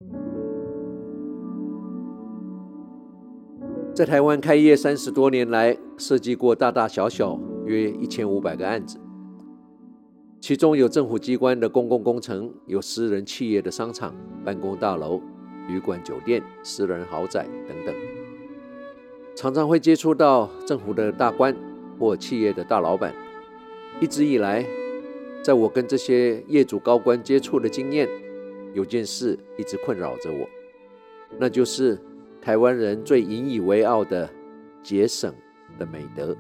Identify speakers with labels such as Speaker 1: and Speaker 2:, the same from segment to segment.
Speaker 1: 在台灣開業30多年來，設計過大大小小約1500個案子，其中有政府機關的公共工程，有私人企業的商場、辦公大樓、旅館、酒店、私人豪宅等等。常常會接觸到政府的大官或企業的大老闆。一直以來，在我跟這些業主高官接觸的經驗，有件事一直困擾着我，那就是台灣人最引以為傲的節省的美德。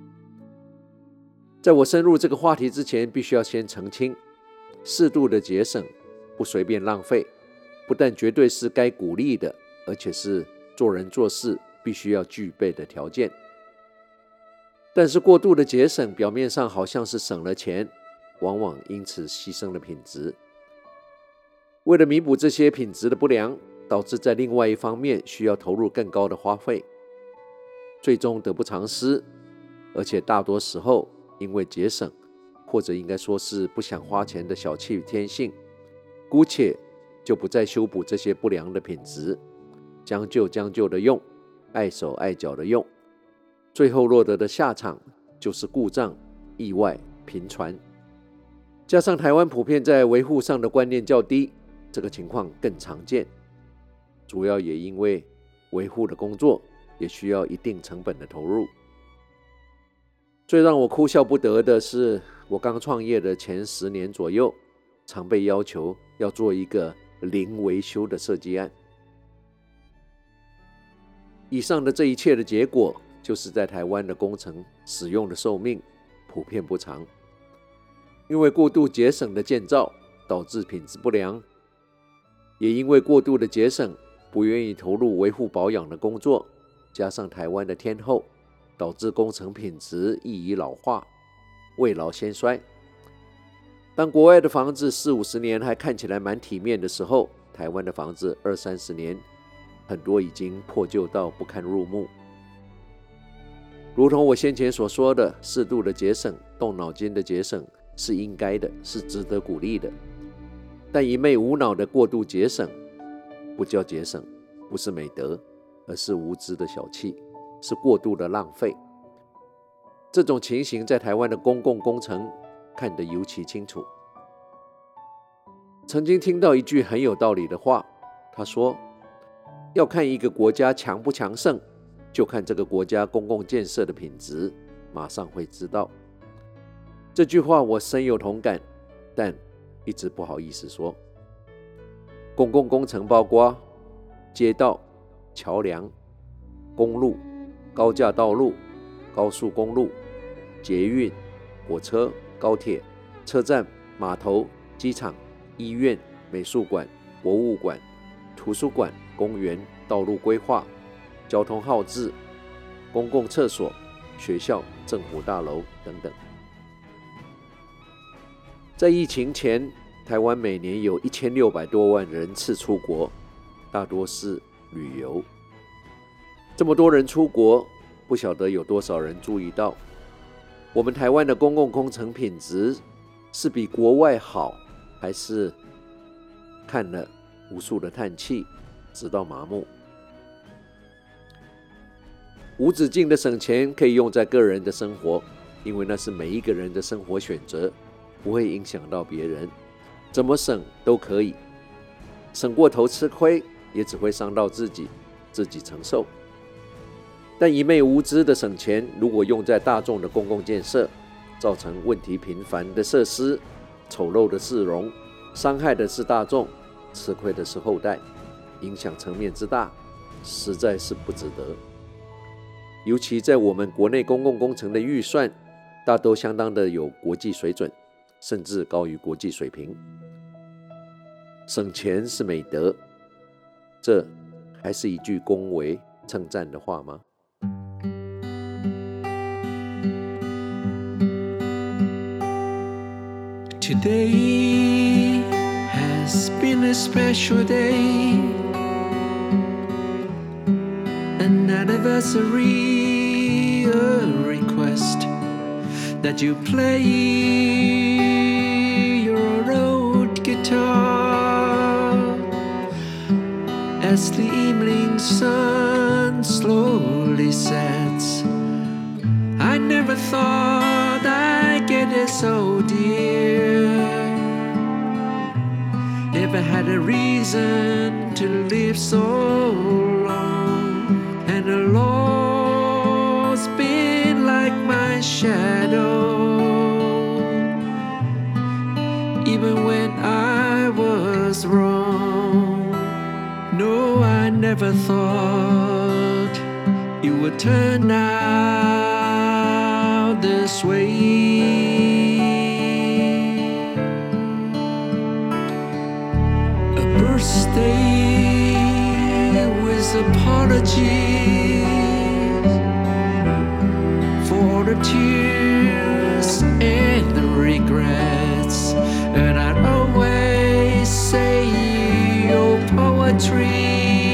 Speaker 1: 在我深入這個話題之前，必須要先澄清，適度的節省，不隨便浪費，不但絕對是該鼓勵的，而且是做人做事必須要具備的條件。但是過度的節省，表面上好像是省了錢，往往因此犧牲了品質。為了彌補這些品質的不良，導致在另外一方面需要投入更高的花費，最終得不償失。而且大多時候因為節省，或者應該說是不想花錢的小氣天性，姑且就不再修補這些不良的品質，將就的用，礙手礙腳的用，最後落得的下場就是故障、意外頻傳。加上台灣普遍在維護上的觀念較低，這個情況更常見。主要也因為維護的工作也需要一定成本的投入。最讓我哭笑不得的是，我剛創業的前10年左右，常被要求要做一個零維修的設計案。以上的這一切的結果，就是在台灣的工程使用的壽命普遍不長，因為過度節省的建造導致品質不良，也因為過度的節省，不願意投入維護保養的工作，加上台灣的天候，導致工程品質易於老化，未老先衰。當國外的房子40-50年還看起來蠻體面的時候，台灣的房子20-30年，很多已經破舊到不堪入目。如同我先前所說的，適度的節省，動腦筋的節省是應該的，是值得鼓勵的。但一昧無腦的過度節省，不叫節省，不是美德，而是無知的小氣，是過度的浪費。這種情形在台灣的公共工程看得尤其清楚。曾經聽到一句很有道理的話，他說，要看一個國家強不強盛，就看這個國家公共建設的品質，馬上會知道。這句話我深有同感，但一直不好意思說。公共工程包括街道、橋梁、公路、高架道路、高速公路、捷運、火車、高鐵、車站、碼頭、機場、醫院、美術館、博物館、圖書館、公園、道路規劃、交通號誌、公共廁所、學校、政府大樓等等。在疫情前，台灣每年有1600多萬人次出國，大多是旅遊。這麼多人出國，不曉得有多少人注意到，我們台灣的公共工程品質是比國外好，還是看了無數的嘆氣，直到麻木。無止境的省錢可以用在個人的生活，因為那是每一個人的生活選擇，不會影響到別人，怎麼省都可以。省過頭吃虧，也只會傷到自己，自己承受。但一昧無知的省錢，如果用在大眾的公共建設，造成問題頻繁的設施、醜陋的市容，傷害的是大眾，吃虧的是後代，影響層面之大，實在是不值得。尤其在我們國內公共工程的預算，大都相當的有國際水準，甚至高於國際水平。省錢是美德，這還是一句恭維稱讚的話嗎
Speaker 2: ？Today has been a special day, an anniversary, a request that you play your old guitar as the evening sun slowly sets, I never thought I'd get it so dear. Never had a reason to live so long, and the Lord's been like my shadow. Even when I was wrong, no, I never thought it would turn out this way. A birthday with apologies for the tears and the regrets, and I'd always say your poetry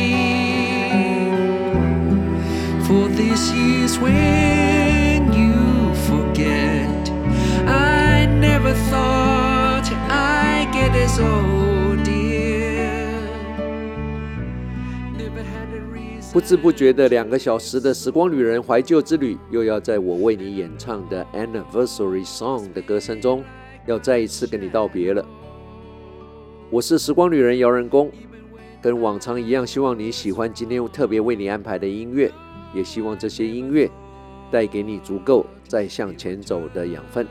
Speaker 2: for these years when you forget. I never thought I'd get it so dear. Never had a reason.
Speaker 1: 不知不觉的2個小時的時光旅人懷舊之旅，又要在我為你演唱的 Anniversary Song 的歌聲中，要再一次跟你道別了。我是時光旅人姚人工，跟往常一樣，希望你喜歡今天特別為你安排的音樂，也希望這些音樂帶給你足夠再向前走的養分。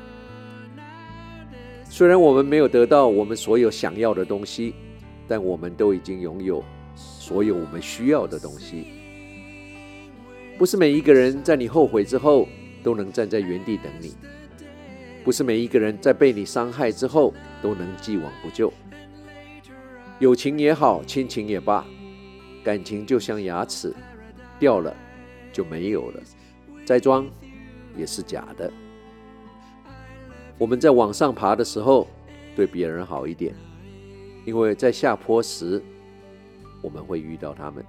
Speaker 1: 雖然我們沒有得到我們所有想要的東西，但我們都已經擁有所有我們需要的東西。不是每一個人在你後悔之後都能站在原地等你，不是每一個人在被你傷害之後都能既往不咎。友情也好，親情也罷，感情就像牙齒，掉了就沒有了，再裝也是假的。我們在往上爬的時候，對別人好一點，因為在下坡時，我們會遇到他們。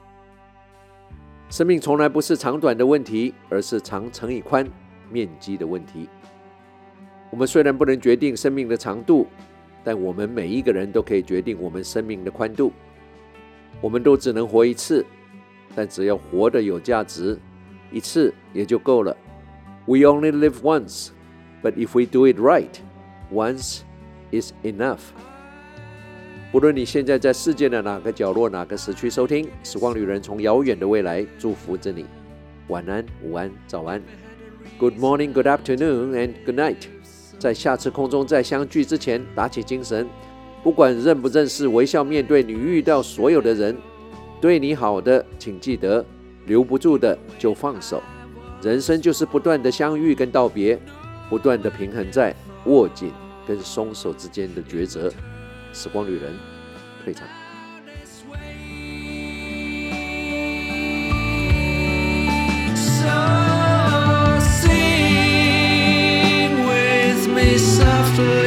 Speaker 1: 生命從來不是長短的問題，而是長乘以寬面積的問題。我們雖然不能決定生命的長度，但我們每一個人都可以決定我們生命的寬度。我們都只能活一次，但只要活得有價值，一次也就夠了。We only live once, but if we do it right, once is enough. 不論你現在在世界的哪個角落、哪個時區收聽，時光旅人從遙遠的未來祝福着你。晚安、午安、早安。Good morning, good afternoon, and good night. 在下次空中再相聚之前，打起精神，不管認不認識，微笑面對你遇到所有的人。對你好的，請記得，留不住的就放手。人生就是不斷的相遇跟道別，不斷的平衡在握緊跟鬆手之間的抉擇。時光旅人退場。
Speaker 2: So sing with me softly.